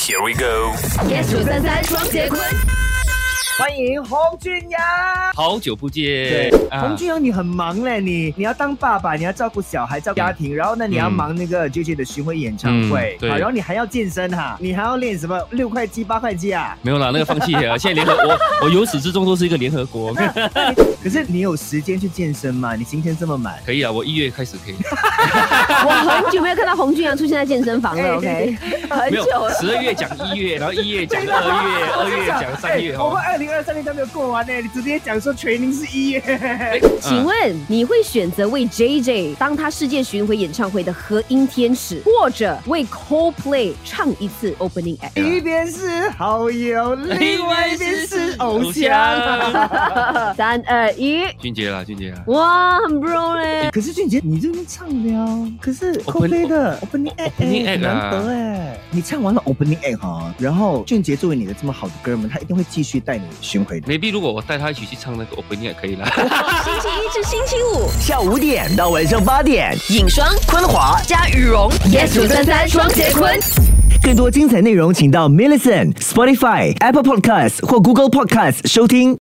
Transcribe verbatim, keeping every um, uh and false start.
Here we go。 yes 九三三双节棍。 欢迎洪俊阳， 好久不见。 对， 啊、 洪俊阳，你很忙嘞，你你要当爸爸，你要照顾小孩，照顾家庭，然后呢，你要忙那个 J J 的巡回演唱会， 嗯、对， 好，然后你还要健身哈，你还要练什么六块肌、八块肌啊？ 没有啦，那个放弃了。现在联合我，我由始至终都是一个联合国。 可是你有时间去健身吗？你今天这么满？ 可以啊，我一月开始可以。 我很久没有看到洪俊阳出现在健身房了 ，OK？ 很久了。 十二月讲一月，然后一月讲二月，二月讲三月。 我们二零二三年都没有过完呢，你直接讲说training是一月。 请问你会选择为 J J 当他世界巡回演唱会的和音天使，或者为 Coldplay 唱一次 Opening Act？ 一边是好友，另外一边是偶像。 三二一， 俊杰啦，俊杰啦。 哇，很 bro 嘞。 可是俊杰，你这边唱了，可是 Coldplay 的 Opening Act 很难得哎。你唱完了 Opening Act 哈，然后俊杰作为你的这么好的哥们，他一定会继续带你巡回的。 maybe 如果我带他一起去唱那个 Opening Act 可以啦。 星期一至星期五下午五点到晚上八点， 影双、 昆华加羽绒 yes 九三三双节棍。 更多精彩内容，请到 Millicent、Spotify、Apple Podcasts 或 Google Podcasts 收听。